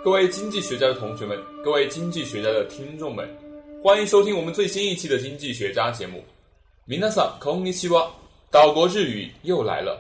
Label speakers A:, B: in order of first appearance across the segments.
A: 各位经济学家的同学们，各位经济学家的听众们，欢迎收听我们最新一期的经济学家节目。皆さんこんにちは，岛国日语又来了。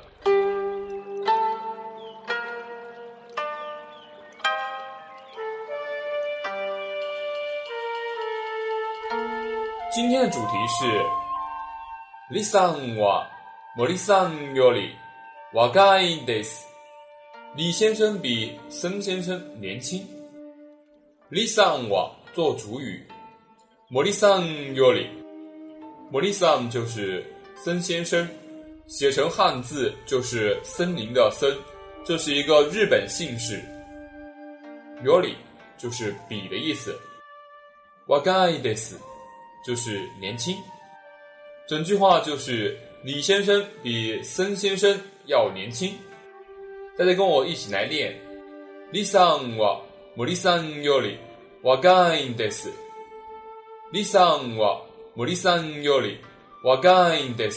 A: 今天的主题是李さんは森さんより若いです。李先生比森先生年轻。李さんは做主语，森さんより，森さん就是森先生，写成汉字就是森林的森，这是一个日本姓氏。より就是比的意思，若いです就是年轻。整句话就是李先生比森先生要年轻。大家跟我一起来练。李さんは森さんより若いです。李さんは森さんより若いです。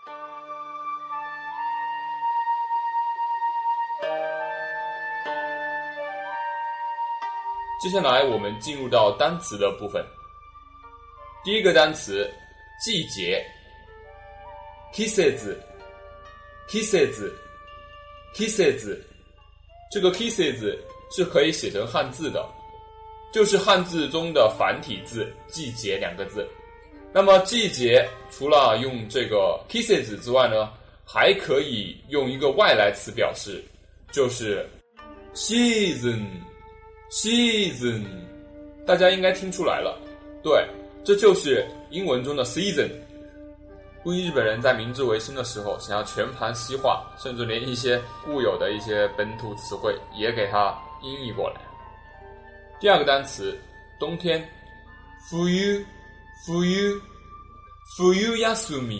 A: 接下来我们进入到单词的部分。第一个单词，季节。季節，季節。季節，这个季節是可以写成汉字的，就是汉字中的繁体字季节两个字。那么季节除了用这个季節之外呢，还可以用一个外来词表示，就是 season。 大家应该听出来了，对，这就是英文中的 season。估计日本人在明治维新的时候想要全盘西化，甚至连一些固有的一些本土词汇也给它音译过来。第二个单词，冬天。冬休み。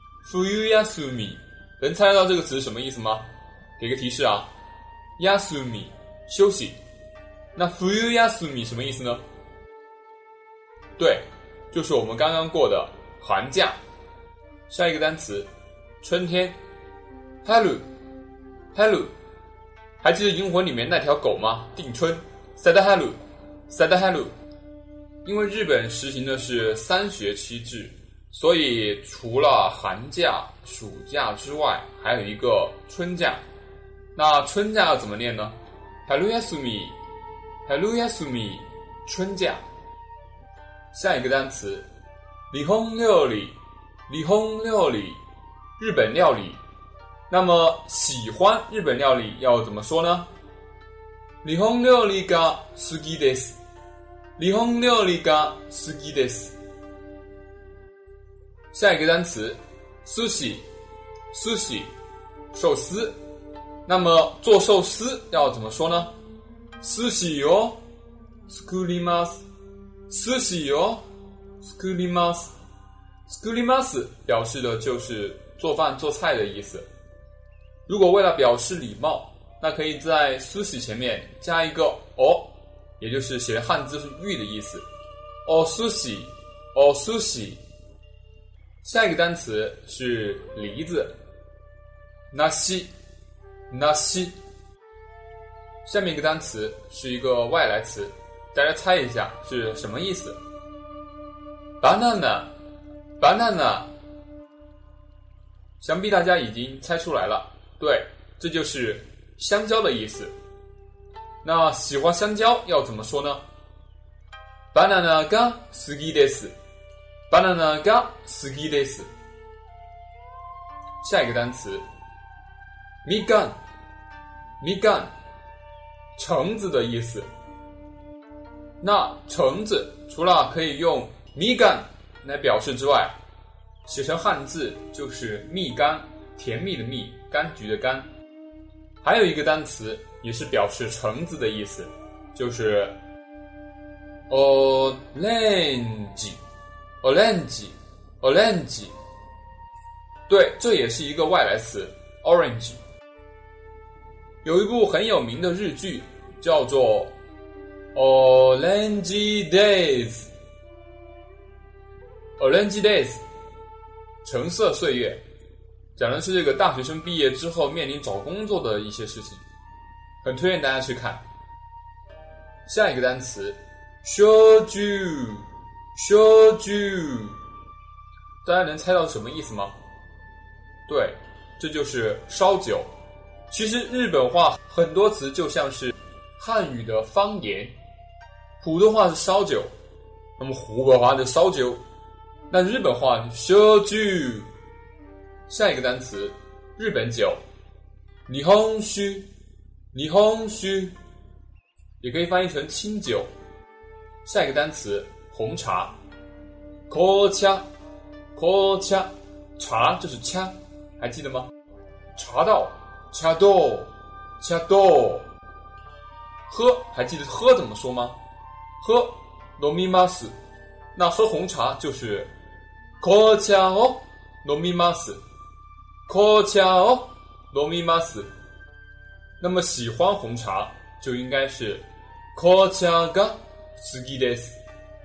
A: 能猜得到这个词什么意思吗？给个提示啊，休み休息。那冬休み什么意思呢？对，就是我们刚刚过的寒假。下一个单词，春天。春。还记得银魂里面那条狗吗？定春。サダハル。因为日本实行的是3学期制，所以除了寒假、暑假之外，还有一个春假。那春假要怎么念呢？春休み。春假。下一个单词，日本料理。日本料理。那么喜欢日本料理要怎么说呢？日本料理が好きです。下一个單詞，寿司，寿司。那么做寿司要怎么说呢？寿司を作ります。作ります表示的就是做饭做菜的意思。如果为了表示礼貌，那可以在寿司前面加一个お，也就是写的汉字是玉的意思。お寿司。下一个单词是梨子。梨。下面一个单词是一个外来词，大家猜一下是什么意思？ banana。想必大家已经猜出来了，对，这就是香蕉的意思。那喜欢香蕉要怎么说呢？ banana が好きです。下一个单词，みかん。橙子的意思。那橙子除了可以用みかん来表示之外，写成汉字就是蜜柑，甜蜜的蜜，柑橘的柑。还有一个单词也是表示橙子的意思，就是 orange。对，这也是一个外来词 orange。有一部很有名的日剧叫做 Orange Days， 橙色岁月，讲的是这个大学生毕业之后面临找工作的一些事情，很推荐大家去看。 下一个单词，shoju，大家能猜到什么意思吗？对，这就是烧酒。其实日本话很多词就像是汉语的方言，普通话是烧酒，那么湖北话的烧酒，那日本话shoju。下一个单词，日本酒，日本酒，也可以翻译成清酒。下一个单词，红茶，紅茶，茶就是掐，还记得吗？茶道，喝，还记得喝怎么说吗？喝，飲みます。那喝红茶就是紅茶を飲みます。那么喜欢红茶就应该是紅茶が好きです。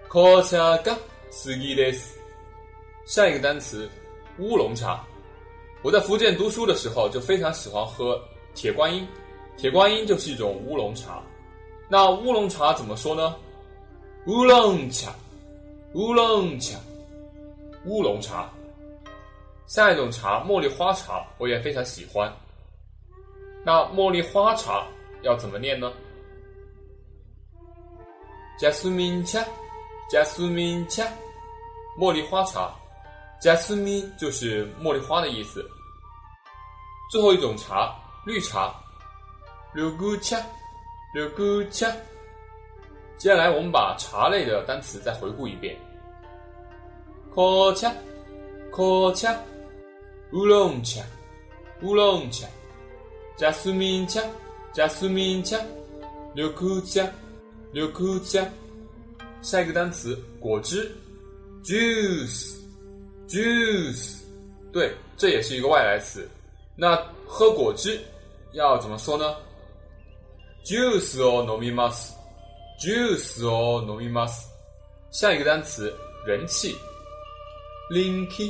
A: 下一个单词，乌龙茶。我在福建读书的时候就非常喜欢喝铁观音，铁观音就是一种乌龙茶。那乌龙茶怎么说呢？乌龙茶。下一种茶，茉莉花茶，我也非常喜欢。那茉莉花茶要怎么念呢？ジャスミン茶，茉莉花茶。ジャスミン就是茉莉花的意思。最后一种茶，绿茶，緑茶。接下来我们把茶类的单词再回顾一遍。紅茶，乌龙茶，ジャスミン茶，緑茶。下一个单词，果汁， juice。对，这也是一个外来词。那喝果汁要怎么说呢？ジュースを飲みます。下一个单詞人气，人気。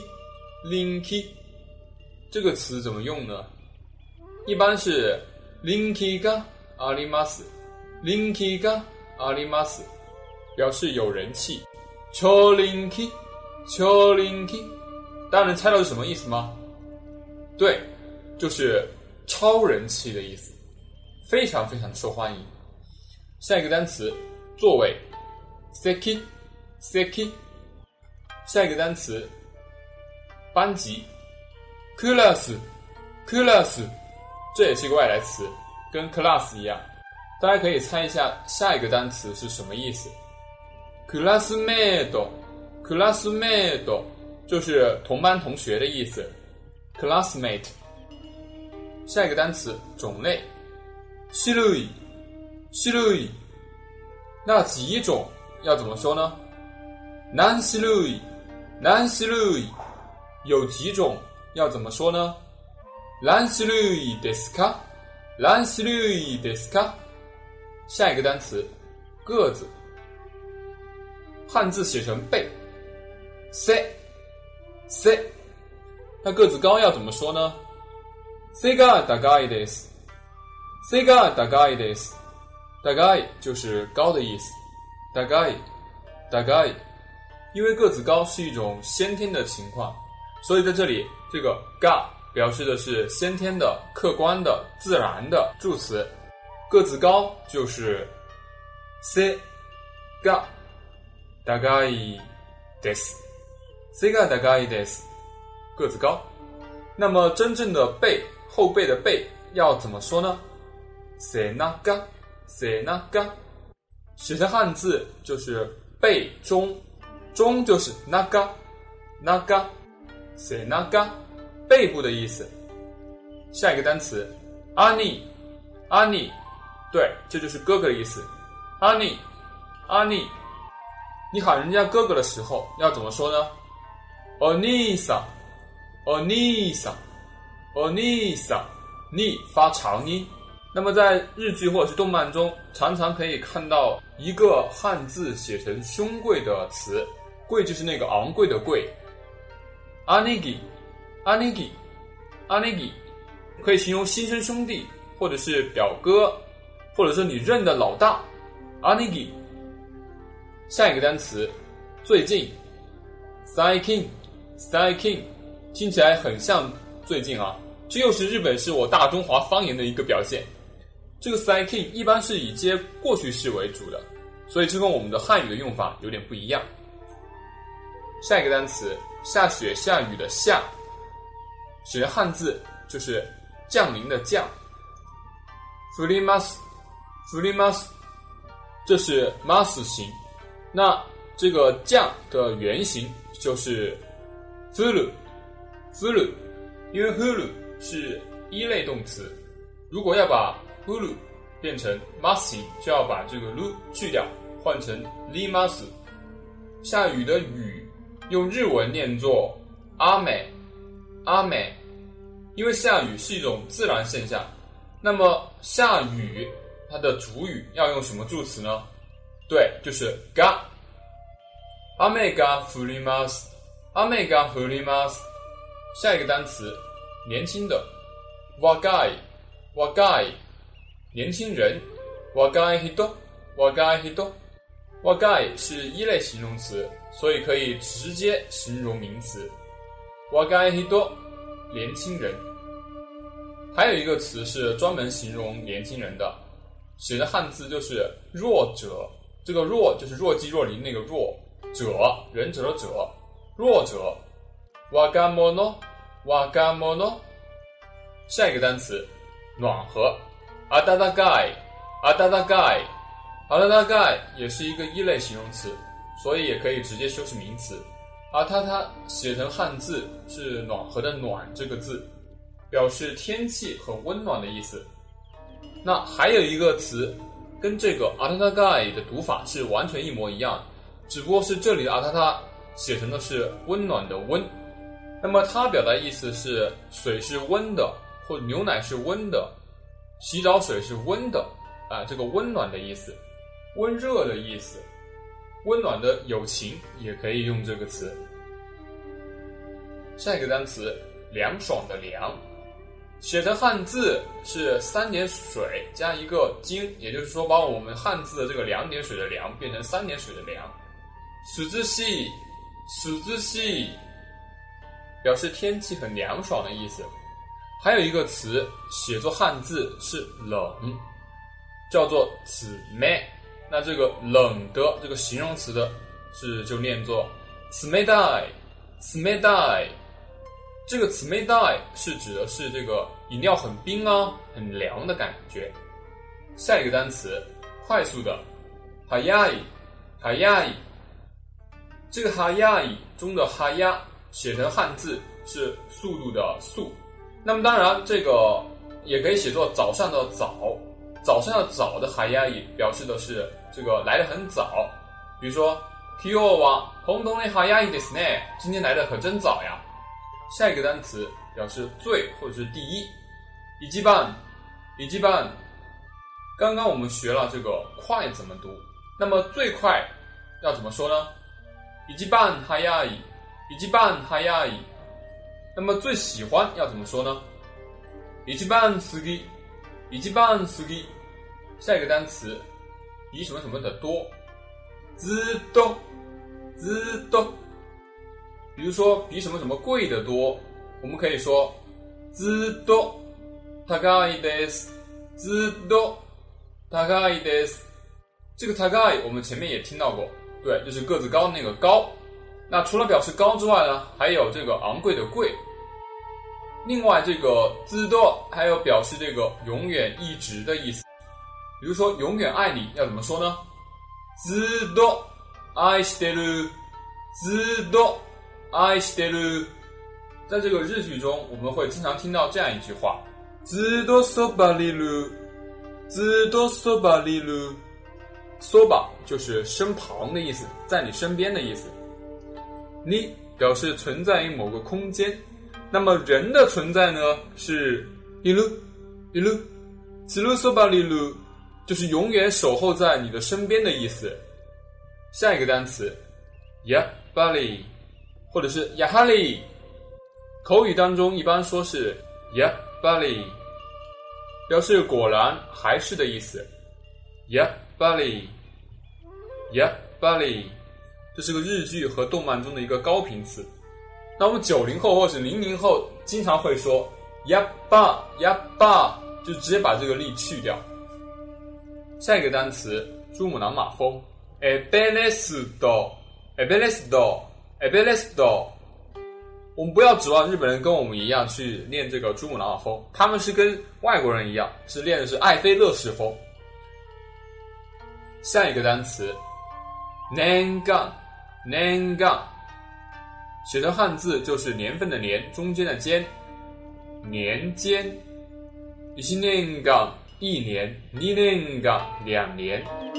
A: 这个词怎么用呢？一般是人気があります。表示有人气。超人気。大家能猜到是什么意思吗？对，就是超人气的意思，非常非常受欢迎。下一个单词座位，席。下一个单词班级，クラス。这也是一个外来词，跟 class 一样。大家可以猜一下下一个单词是什么意思。クラスメイト就是同班同学的意思， classmate。 下一个单词种类，種類。那几种要怎么说呢？何種類。有几种要怎么说呢？何種類ですか。下一个单詞个子，汉字写成背，背。那个子高要怎么说呢？背が高いです。高い就是高的意思，高い。因为个子高是一种先天的情况，所以在这里这个が表示的是先天的、客观的、自然的助词。个子高就是背が高いです。个子高。那么真正的背，后背的背要怎么说呢？背中。写成汉字就是背中，中就是中，背中，背部的意思。下一个单词兄，对，这就是哥哥的意思。兄，你喊人家哥哥的时候要怎么说呢？お兄さん，你发长音。那么在日剧或者是动漫中，常常可以看到一个汉字写成胸贵的词，贵就是那个昂贵的贵。兄貴可以形容亲生兄弟，或者是表哥，或者是你认的老大。 anigi。下一个单词最近 最近听起来很像最近啊，这又是日本是我大中华方言的一个表现。这个最近一般是以接过去式为主的，所以这跟我们的汉语的用法有点不一样。下一个单词下雪下雨的下，写成汉字就是降临的降。降ります降ります，这是 mas 形。那这个降的原型就是降る降る，因为降る是一类动词，如果要把降る变成 mas 形，就要把这个る去掉，换成ります。下雨的雨用日文念作阿美阿美，因为下雨是一种自然现象。那么下雨它的主语要用什么助词呢？对，就是が。雨が降ります。雨が降ります。下一个单词年轻的若い若い，年轻人若い人若い人。若い是一类形容词，所以可以直接形容名词。若い人年轻人。还有一个词是专门形容年轻人的，写的汉字就是弱者，这个弱就是若即若离那个弱，者忍者的者，弱者若者若者。下一个单词暖和暖かい暖かい暖かい也是一个一类形容词，所以也可以直接修饰名词。它写成汉字是暖和的暖这个字，表示天气很温暖的意思。那还有一个词跟这个暖かい的读法是完全一模一样，只不过是这里的暖写成的是温暖的温。那么它表达意思是水是温的，或者牛奶是温的，洗澡水是温的这个温暖的意思，温热的意思，温暖的友情也可以用这个词。下一个单词凉爽的凉，写成汉字是三点水加一个金，也就是说把我们汉字的这个两点水的凉变成三点水的凉。涼しい涼しい，表示天气很凉爽的意思。还有一个词写作汉字是冷，叫做冷。那这个冷的这个形容词的就念作冷たい冷たい。这个冷たい是指的是这个饮料很冰很凉的感觉。下一个单词快速的速い速い，这个速い中的速写成汉字是速度的速。那么当然这个也可以写作早上的早，早上的早的速い表示的是这个来得很早。比如说今日は本当に早いですね，今天来得可真早呀。下一个单词表示最或者是第一，一番一番。刚刚我们学了这个快怎么读，那么最快要怎么说呢？一番早い一番早い。那么最喜欢要怎么说呢？一番好き一番好き。下一个单词比什么什么的多，ずっとずっと。比如说比什么什么贵的多，我们可以说ずっと高いですずっと高いです。这个高い我们前面也听到过，对，就是个子高那个高。那除了表示高之外呢，还有这个昂贵的贵。另外这个ずっと还有表示这个永远一直的意思。比如说永远爱你要怎么说呢？ずっと愛してるずっと愛してる。在这个日剧中我们会经常听到这样一句话，ずっとそばにいるずっとそばにいる。そば就是身旁的意思，在你身边的意思。に表示存在于某个空间，那么人的存在呢是いるいるずっとそばにいる，就是永远守候在你的身边的意思。下一个单词やっぱり或者是やはり，口语当中一般说是やっぱり，表示果然还是的意思。やっぱりやっぱり，这是个日剧和动漫中的一个高频词。那我们90后或是00后经常会说やっぱやっぱ，就直接把这个力去掉。下一个单词珠穆朗玛峰，エベレスト，エベレスト，エベレスト。我们不要指望日本人跟我们一样去念这个珠穆朗玛峰，他们是跟外国人一样，是练的是埃菲勒式峰。下一个单词年間，年間写成汉字就是年份的年，中间的间，年间。1年間1年，2年間2年。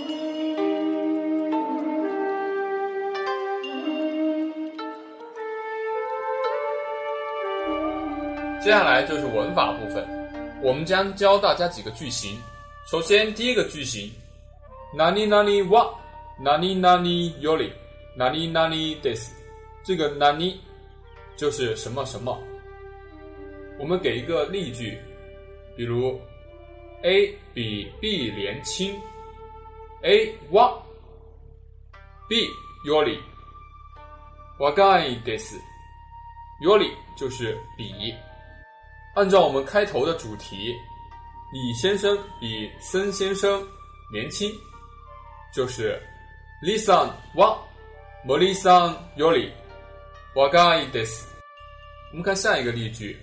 A: 接下来就是文法部分，我们将教大家几个句型。首先第一个句型，何々は何々より何々です。这个何就是什么什么。我们给一个例句，比如 A 比 B 年轻， A は B より若いです。より就是比。按照我们开头的主题，李先生比森先生年轻，就是李さんは森さんより若いです。我们看下一个例句，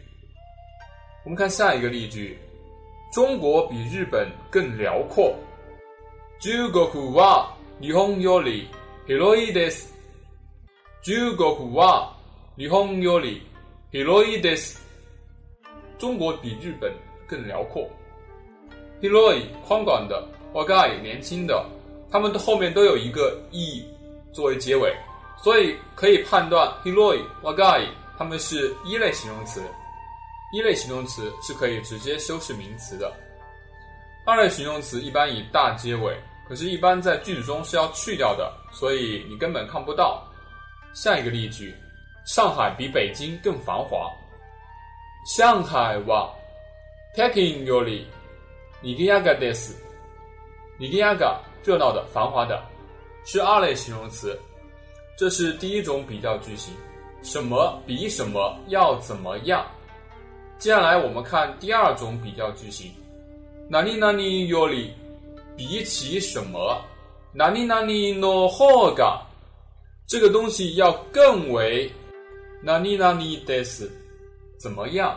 A: 中国比日本更辽阔。中国は日本より広いです。中国は日本より広いです。中国比日本更辽阔。広い宽广的，若い年轻的，他们的后面都有一个い作为结尾，所以可以判断広い、若い他们是一类形容词。一类形容词是可以直接修饰名词的。二类形容词一般以大结尾，可是一般在句子中是要去掉的，所以你根本看不到。下一个例句，上海比北京更繁华。上海は北京より賑やかです。賑やか热闹的、繁华的，是二类形容词。这是第一种比较句型，什么比什么要怎么样。接下来我们看第二种比较句型，何々より比起什么，何々の方が这个东西要更为何々です怎么样。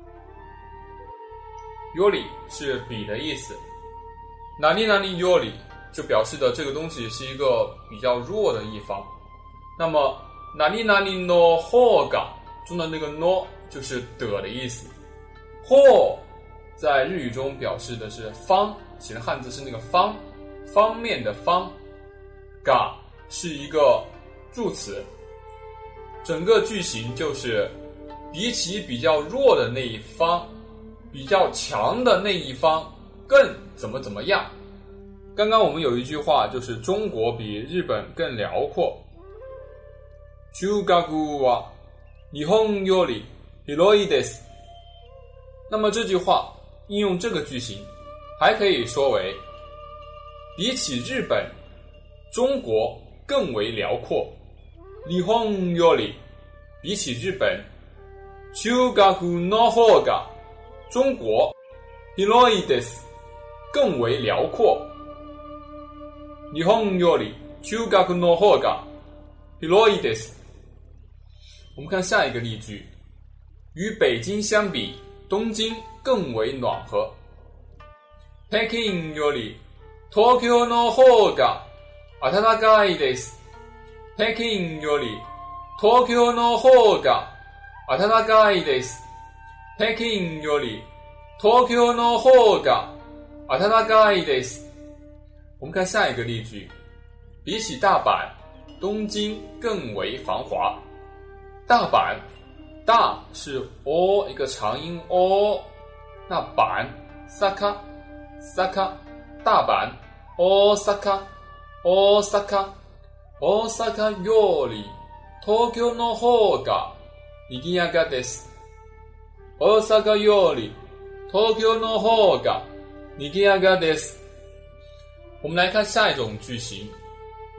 A: より是比的意思，何々より就表示的这个东西是一个比较弱的一方。那么何々の方が中的那个の就是的意思。方在日语中表示的是方，写的汉字是那个方，方面的方。が是一个助词，整个句型就是比起比较弱的那一方，比较强的那一方更怎么怎么样。刚刚我们有一句话就是中国比日本更辽阔。中国は日本より広いです。那么这句话应用这个句型还可以说为比起日本中国更为辽阔。日本より比起日本中国の方が中国広いです更为辽阔。日本より中国の方が広いです。我们看下一个例句，与北京相比东京更为暖和。北京より東京の方が暖かいです。北京より東京の方が暖かいです。北京より東京の方が暖かいです。我们看下一个例句，比起大阪，东京更为繁华。大阪，大是 o 一个长音 o， 那阪 saka saka 大阪 osaka osaka osakaより東京の方が賑やかです。大阪より東京の方が賑やかです。我们来看下一种句型，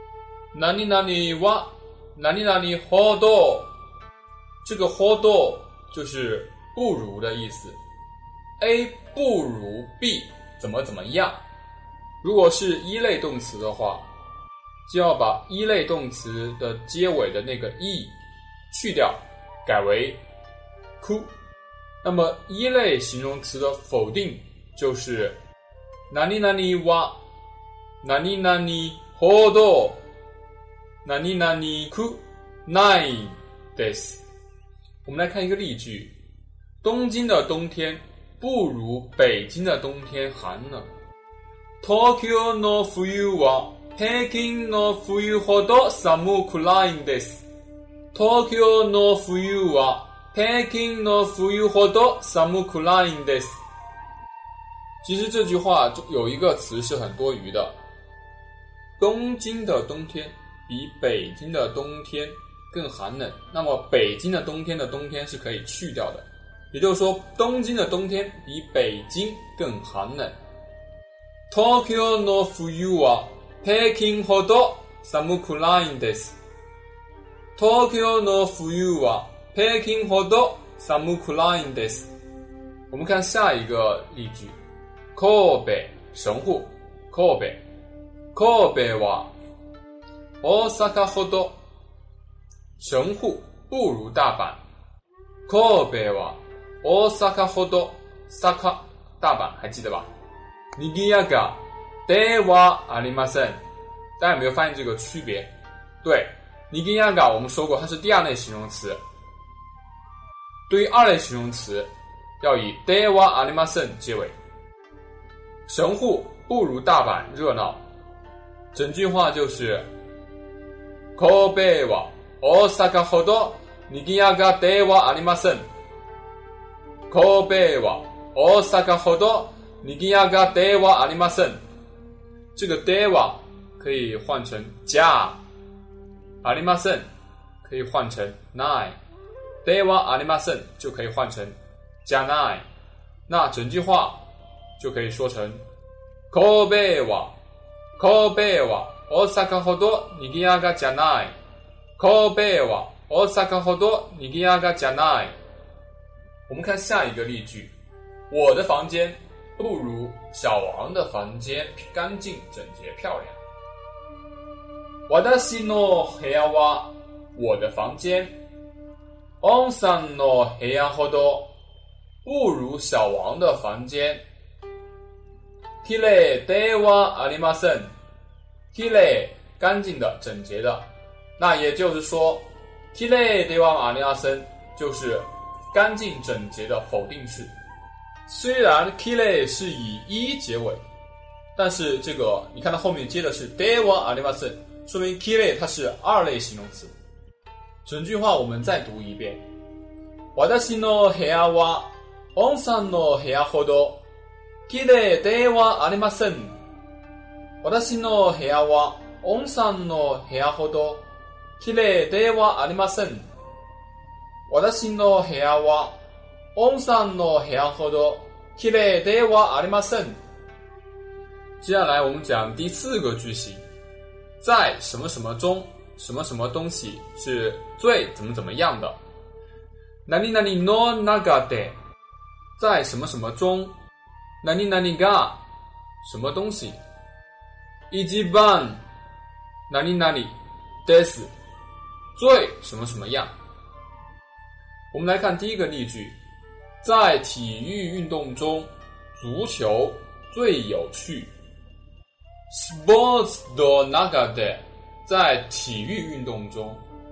A: 哪里哪里哇，哪里哪里ほど，这个ほど就是不如的意思。A 不如 B 怎么怎么样。如果是一类动词的话，就要把一类动词的结尾的那个 e 去掉，改为く。那么一类形容词的否定就是哪里哪里は哪里哪里ほど哪里哪里くないです。我们来看一个例句：东京的冬天不如北京的冬天寒冷。東京の冬は平均の冬ほど寒くないんです。東京の冬は平均の冬ほど寒くないんです。其实这句话有一个词是很多余的，东京的冬天比北京的冬天更寒冷，那么北京的冬天的冬天是可以去掉的，也就是说东京的冬天比北京更寒冷。東京の冬は平均ほど寒くないんです。東京の冬は平均ほど寒くないんです。我们看下一个例句：神戸神户神戸神戸は大阪ほど神户不如大阪。神戸は大阪ほど坂大阪还记得吧？にぎやかではありません。大家有没有发现这个区别？对，にぎやか我们说过它是第二类形容词，对于二类形容词要以ではありません结尾。神户不如大阪热闹，整句话就是神戸は大阪ほどにぎやかではありません。神戸は大阪ほどにぎやかではありません。这个では可以换成じゃありません可以换成ない。ではありません就可以换成じゃない。那整句话就可以说成神戸は大阪ほどにぎやかじゃない。神戸は大阪ほどにぎやかじゃない。我们看下一个例句：我的房间不如小王的房间干净整洁漂亮。私の部屋は我的房间王さんの部屋ほど不如小王的房间。きれいではありません。きれい干净的整洁的，那也就是说きれいではありません就是干净整洁的否定式。虽然きれい是以一结尾，但是这个你看它后面接的是ではありません，说明きれい它是二类形容词。整句话我们再读一遍：私の部屋は王さんの部屋ほどきれいではありません。私の部屋は王さんの部屋ほどきれいではありません。私の部屋は王さんの部屋ほどきれいではありません。接下来我们讲第四个句型，在什么什么中什么什么东西是最怎么怎么样的。何々の中で在什么什么中何々が什么东西一番何々です最什么什么样。我们来看第一个例句：在体育运动中足球最有趣。スポーツの中で在体育运动中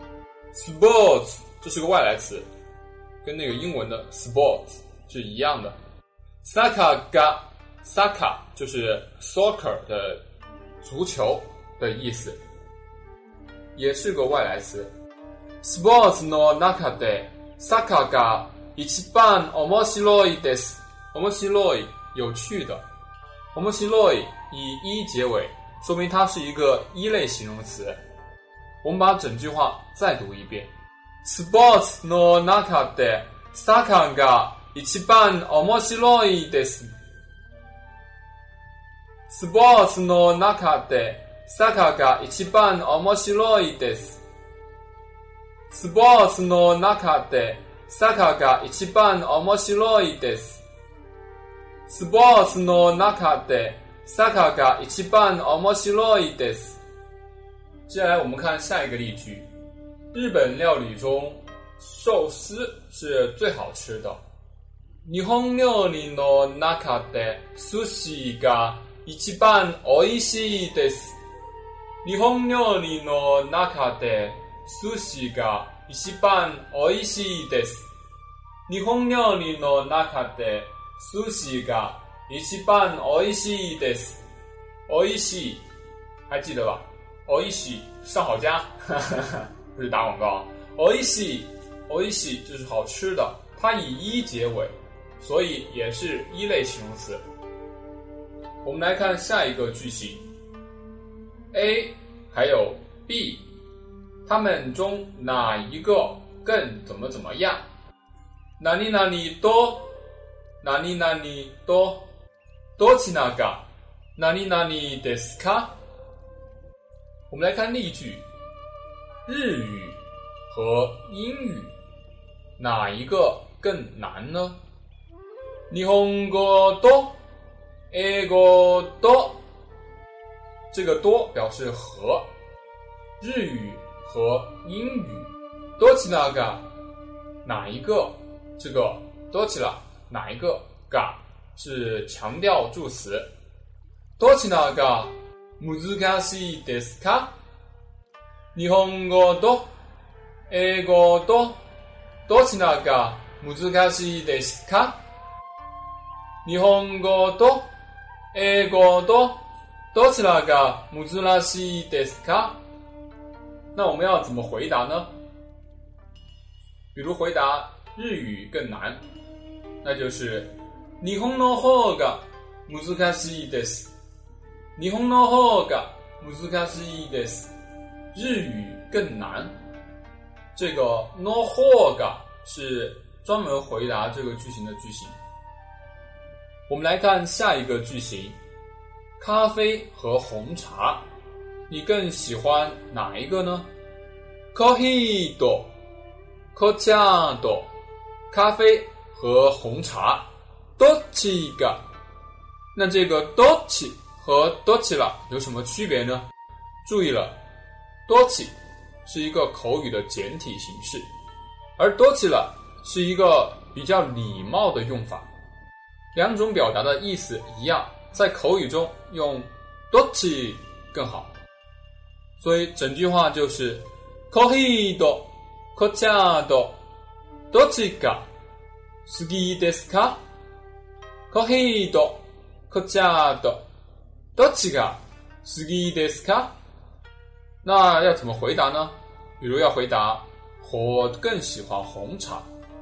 A: sports 这是个外来词，跟那个英文的 sports 是一样的。サッカーがサッカー就是 soccer 的足球的意思，也是个外来词。スポーツの中でサッカーが一番面白いです。面白い有趣的，面白い以一结尾，说明它是一个一类形容词。我们把整句话再读一遍：スポーツの中でサッカーが一番面白いです。スポーツの中でサッカーが一番面白いです。スポーツの中でサッカーが一番面白いです。スポーツの中でサッカーが一番面白いです。接下来我们看下一个例句。日本料理中，寿司是最好吃的。日本料理の中で寿司が一番美味しいです。日本料理の中で寿司が一番美味しいです。日本料理の中で寿司が一番美味しいです。美味しい，还记得吧？美味しい，上好佳，不是打广告。美味しい，美味しい就是好吃的，它以一结尾，所以也是一类形容词。我们来看下一个句型 ，A 还有 B， 它们中哪一个更怎么样？何々と何々とどちらが何々ですか？我们来看例句，日语和英语哪一个更难呢？日本語と英語と，这个多表示和，日语和英语どちらが哪一个，这个どちら哪一个が是强调助词，どちらが難しいですか？日本語と英語とどちらが難しいですか？日本語と英語とどちらが難しいですか？那我们要怎么回答呢？比如回答日语更难，那就是日本の方が難しいです。日本の方が難しいです。日语更难。这个の方が是专门回答这个句型的句型。我们来看下一个句型，咖啡和红茶，你更喜欢哪一个呢？コーヒーと紅茶と咖啡和红茶，どっちが？那这个どっち和どちら有什么区别呢？注意了，どっち是一个口语的简体形式，而どちら是一个比较礼貌的用法。两种表达的意思一样，在口语中用どっち更好。所以整句话就是コーヒーと紅茶とどっちが好きですか？コーヒーと紅茶とどっちが好きですか？那要怎么回答呢？比如要回答我更喜欢红茶。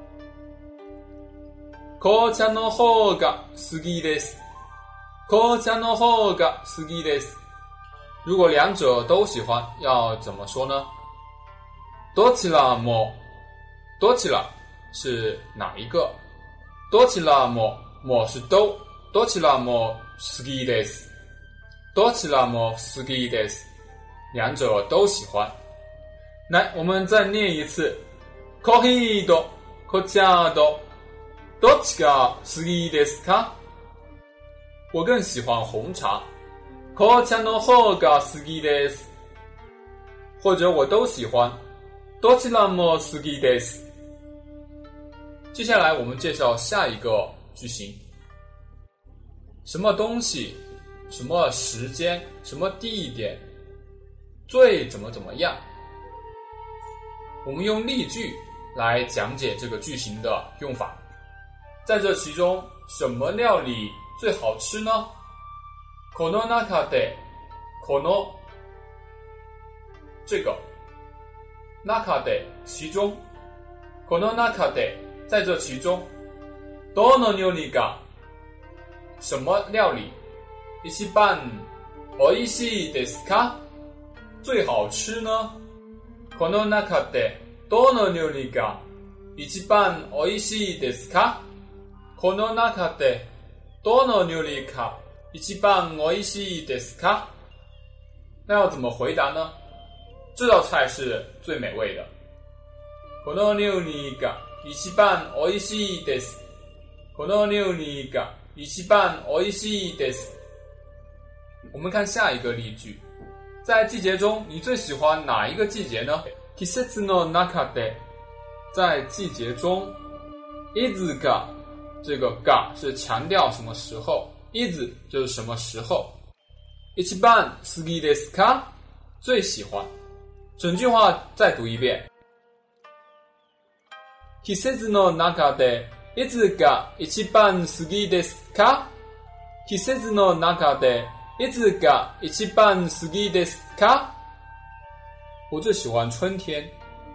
A: 紅茶の方が好きです。紅茶の方が好きです。如果两者都喜欢，要怎么说呢？どちらも，どちら是哪一个？どちらも，も是都，どちらも好きです。どちらも好きです。两者都喜欢。来，我们再念一次。コーヒーと紅茶とどっちが好きですか？我更喜欢红茶。紅茶の方が好きです。或者我都喜欢。どちらも好きです。接下来我们介绍下一个句型。什么东西，什么时间，什么地点，最怎么样？我们用例句来讲解这个句型的用法。在这其中，什么料理最好吃呢？この中で、この这个中で其中，この中で在这其中，どの料理が什么料理一番美味しいですか？最好吃呢？この中でどの料理が一番美味しいですか？この中でどの料理が一番美味しいですか？ 那要怎么回答呢？这道菜是最美味的。この料理が一番美味しいです。この料理が一番美味しいです。我们看下一个例句，在季节中，你最喜欢哪一个季节呢？季節の中で，在季节中，いつが这个が是强调什么时候，いつ就是什么时候。一番好きですか？最喜欢。整句话再读一遍。季節の中でいつが一番好きですか？季節の中でいつが一番好きですか？我最喜欢春天。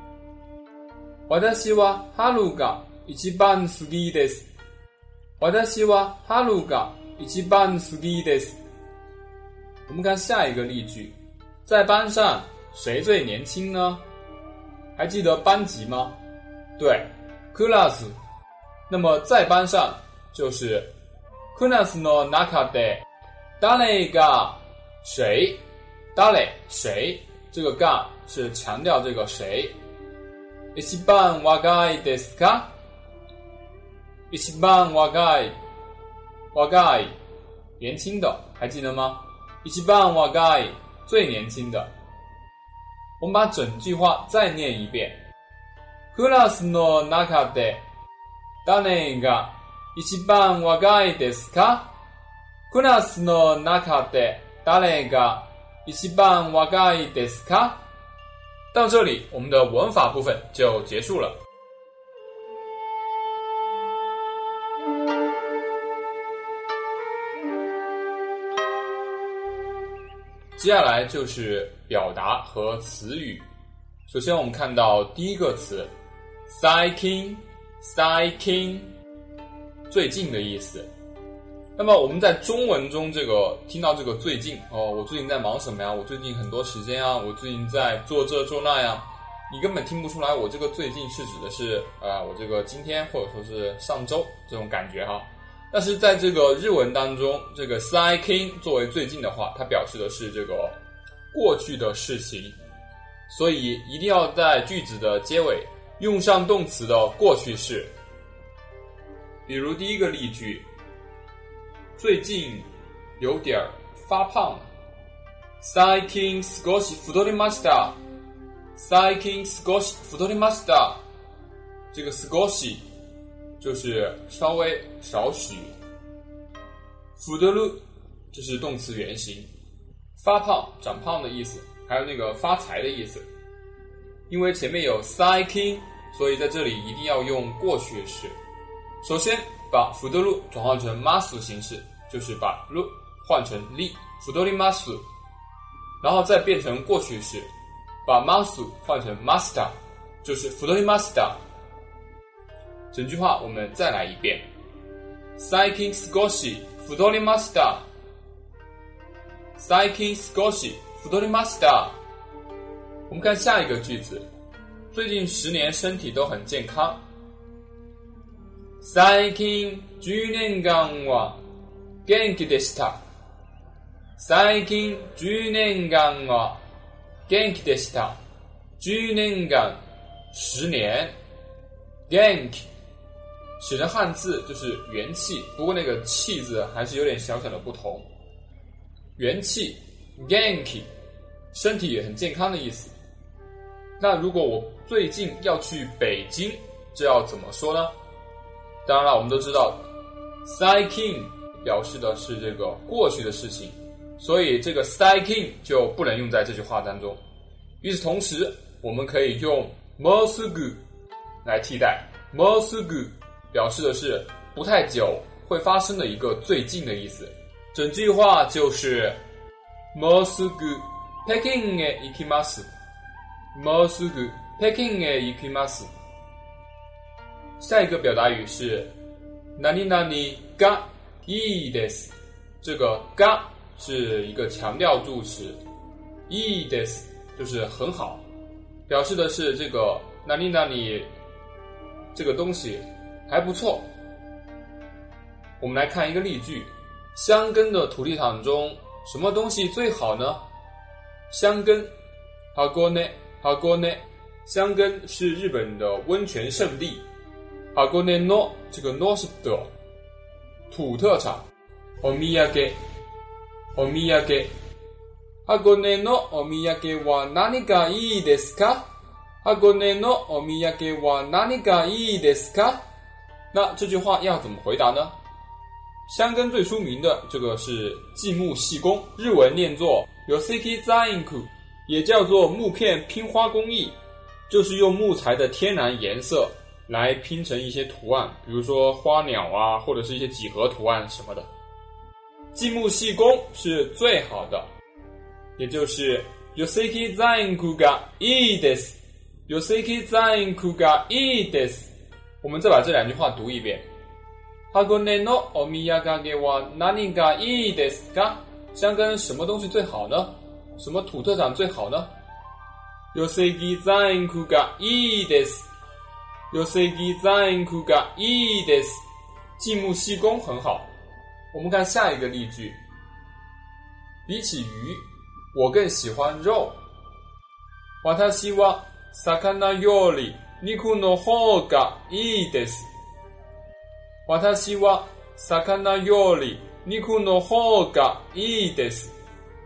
A: 私は春が一番好きです。私は春が一番好きです。我们看下一个例句，在班上谁最年轻呢？还记得班级吗？对，クラス。那么在班上就是クラスの中で誰が谁，誰谁，这个が是强调这个谁。一番若いですか？一番若い，若い年轻的，还记得吗？一番若い最年轻的。我们把整句话再念一遍。クラスの中で誰が一番若いですか？クラスの中で誰が一番若いですか？到这里，我们的文法部分就结束了。接下来就是表达和词语。首先我们看到第一个词最近，最近，最近的意思。那么我们在中文中听到这个最近我最近在忙什么呀？我最近很多时间啊，我最近在做这做那呀，你根本听不出来我这个最近是指的是我这个今天或者说是上周这种感觉哈。但是在这个日文当中，这个最近作为最近的话，它表示的是这个过去的事情，所以一定要在句子的结尾用上动词的过去式。比如第一个例句，最近有点发胖了。最近少し太りました。最近少し太りました。这个少し就是稍微少许，太る就是动词原形，发胖长胖的意思，还有那个发财的意思。因为前面有最近，所以在这里一定要用过去式。首先把太る转换成ます形式，就是把る换成り，太ります，然后再变成过去式，把ます换成ました，就是太りました。整句话我们再来一遍。最近少し太りました。最近少し太りました。我们看下一个句子，最近10年身体都很健康。最近10年間は元気でした。最近10年間は元気でした。10年間10年，元気写成汉字就是元气，不过那个气字还是有点小小的不同。元气 genki 身体也很健康的意思。那如果我最近要去北京，这要怎么说呢？当然了，我们都知道最近表示的是这个过去的事情，所以这个最近就不能用在这句话当中。与此同时，我们可以用もうすぐ来替代。もうすぐ表示的是不太久会发生的一个最近的意思。整句话就是もうすぐ北京へ行きます。もうすぐ北京へ行きます。下一个表达语是何々がいいです。这个が是一个强调助词，いいです就是很好，表示的是这个何々这个东西还不错。我们来看一个例句，箱根的土地场中什么东西最好呢？ 箱根 Hagone 箱根是日本的温泉圣地。Hagone no 这个 no 是的土特产。お土産 Hagone no お土産は何がいいですか？ Hagone no お土産は何がいいですか？那这句话要怎么回答呢？箱根最出名的这个是继木细工，日文念作 Yoseki Zainku， 也叫做木片拼花工艺，就是用木材的天然颜色来拼成一些图案，比如说花鸟啊，或者是一些几何图案什么的。继木细工是最好的，也就是 Yoseki Zainku ga ii desu Yoseki Zainku ga ii desu。 我们再把这两句话读一遍。Hagone noお土産は何がいいですか？箱根什么东西最好呢？什么土特产最好呢？ Yoseki Zainku ga ii desu Yoseki Zainku ga ii desu。 继木细工很好。我们看下一个例句。比起鱼，我更喜欢肉。私は魚より肉の方がいいです。私は魚より肉の方がいいです。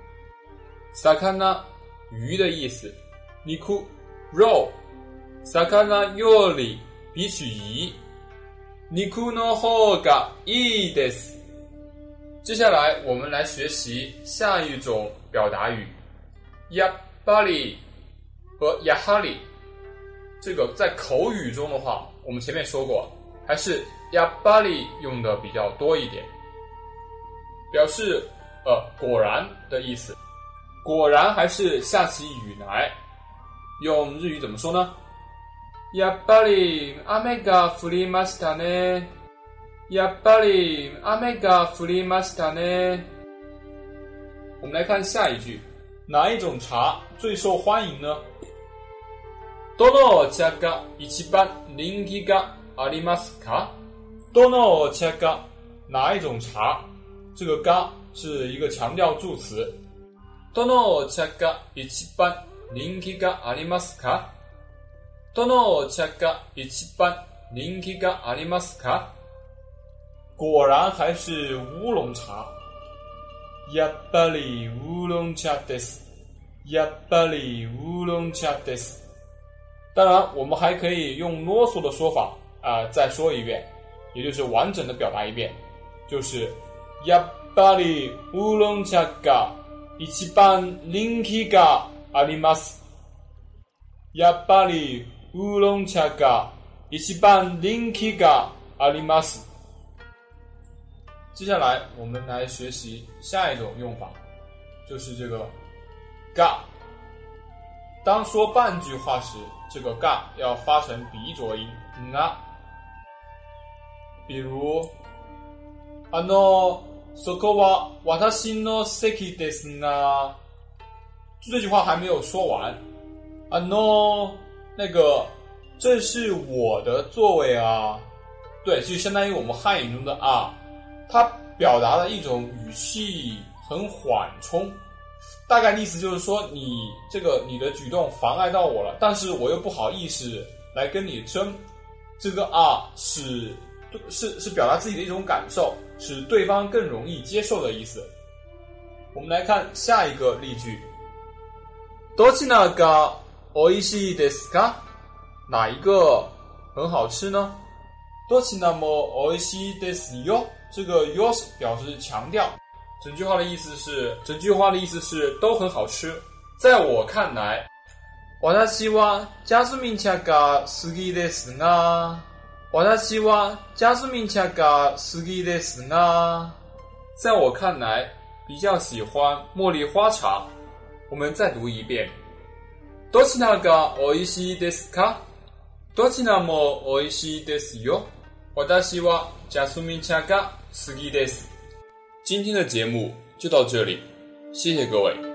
A: 魚鱼的意思，肉肉，魚より比起鱼，肉の方がいいです。接下来我们来学习下一种表达语，やっぱり和やはり。这个在口语中的话，我们前面说过，还是やっぱり用的比较多一点，表示果然的意思。果然还是下起雨来，用日语怎么说呢？やっぱり雨が降りましたね。やっぱり雨が降りましたね。我们来看下一句，哪一种茶最受欢迎呢？どのお茶が一番人気がありますか？どのお茶が哪一种茶？这个が是一个强调助词。どのお茶が一番人気がありますか？どのお茶が一番人気がありますか？果然还是乌龙茶。やっぱり乌龍茶です。やっぱり乌龍茶です。当然我们还可以用啰嗦的说法再说一遍，也就是完整的表达一遍，就是やっぱり乌龍茶が一番人気があります。やっぱり乌龍茶が一番人気があります。接下来我们来学习下一种用法，就是这个が。当说半句话时，这个が要发成鼻浊音が。比如そこは私の席ですが，这句话还没有说完。那个这是我的座位啊。对，就相当于我们汉语中的啊，它表达了一种语气很缓冲，大概意思就是说你的举动妨碍到我了，但是我又不好意思来跟你争。这个啊是表达自己的一种感受，使对方更容易接受的意思。我们来看下一个例句。どちらが美味しいですか？哪一个很好吃呢？どちらも美味しいですよ。这个よ表示強調，整句话的意思是都很好吃。在我看来，私はジャスミン茶が好きですが。私はジャスミン茶が好きですが。在我看来，比较喜欢茉莉花茶。我们再读一遍。どちらが美味しいですか？どちらも美味しいですよ。私はジャスミン茶が好きです。今天的节目就到这里，谢谢各位。